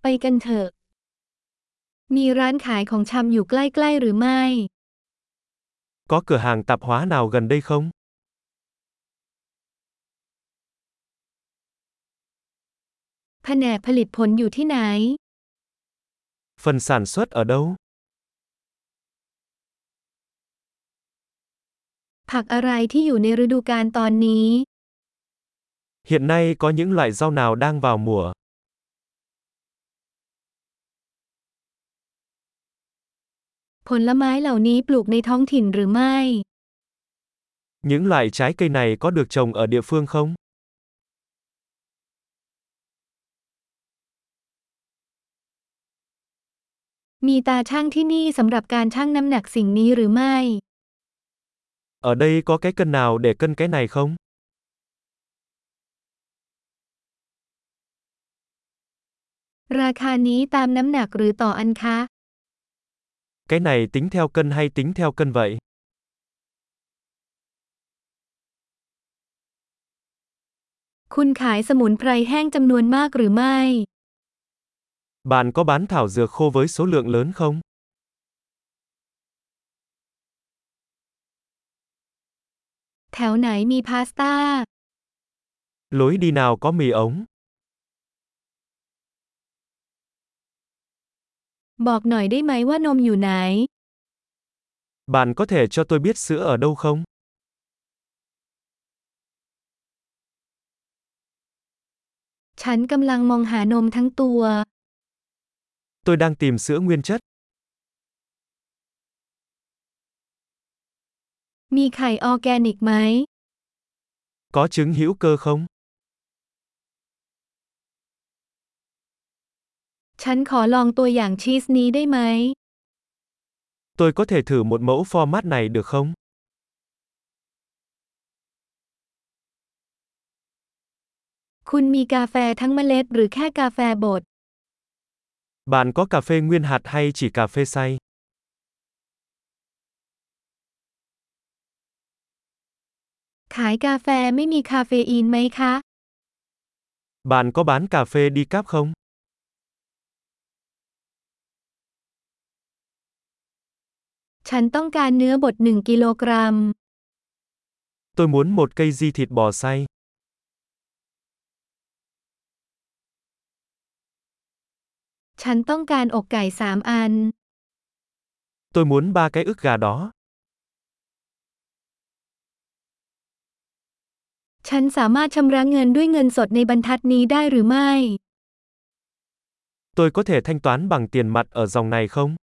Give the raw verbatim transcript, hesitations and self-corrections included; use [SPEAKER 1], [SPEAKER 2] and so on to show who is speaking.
[SPEAKER 1] กันเถอะมีร้านขายของชำอยู่ใกล้ๆหรือไม่
[SPEAKER 2] Có cửa hàng tạp hóa nào gần đây không?
[SPEAKER 1] แผนกผลิตผลอยู่ที่ไหน
[SPEAKER 2] Phần sản xuất ở đâu?
[SPEAKER 1] ผักอะไรที่อยู่ในฤดูกาลตอนนี้
[SPEAKER 2] Hiện nay có những loại rau nào đang vào mùa?
[SPEAKER 1] ผลไม้เหล่านี้ปลูกในท้องถิ่นหรือไม่
[SPEAKER 2] Những loại trái cây này có được trồng ở địa phương không?
[SPEAKER 1] มีตาชั่งที่นี่สำหรับการชั่งน้ำหนักสิ่งนี้หรือไม่
[SPEAKER 2] Ở đây có cái cân nào để cân cái này không?
[SPEAKER 1] ราคานี้ตามน้ำหนักหรือต่ออันคะ
[SPEAKER 2] Cái này tính theo cân hay tính theo cân vậy?
[SPEAKER 1] คุณขายสมุนไพรแห้งจำนวนมากหรือไม่
[SPEAKER 2] Bạn có bán thảo dược khô với số lượng lớn không?
[SPEAKER 1] แถวไหนมีพาสต้า
[SPEAKER 2] Lối đi nào có mì ống?
[SPEAKER 1] บอกหน่อยได้ไหมว่านมอยู่ไหน
[SPEAKER 2] Bạn có thể cho tôi biết sữa ở đâu không?
[SPEAKER 1] ฉันกำลังมองหานมทั้งตัว
[SPEAKER 2] Tôi đang tìm sữa nguyên chất.
[SPEAKER 1] มีไข่ออร์แกนิกไหม
[SPEAKER 2] Có trứng hữu cơ không?
[SPEAKER 1] ฉันขอลองตัวอย่างชีสนี้ได้ไหม
[SPEAKER 2] Tôi có thể thử một mẫu format này được không?
[SPEAKER 1] คุณมีกาแฟทั้งเมล็ดหรือแค่กาแฟบด
[SPEAKER 2] Bạn có cà phê nguyên hạt hay chỉ cà phê xay?
[SPEAKER 1] ขายกาแฟไม่มีคาเฟอีนไหมคะ
[SPEAKER 2] Bạn có bán cà phê decaf không?
[SPEAKER 1] ฉันต้องการเนื้อบดหนึ่งกิโลกรัม
[SPEAKER 2] Tôi muốn một cây di thịt bò xay.
[SPEAKER 1] ฉันต้องการอกไก่สามอัน
[SPEAKER 2] Tôi muốn ba cái ức gà đó.
[SPEAKER 1] ฉันสามารถชำระเงินด้วยเงินสดในบรรทัดนี้ได้หรือไม่
[SPEAKER 2] Tôi có thể thanh toán bằng tiền mặt ở dòng này không?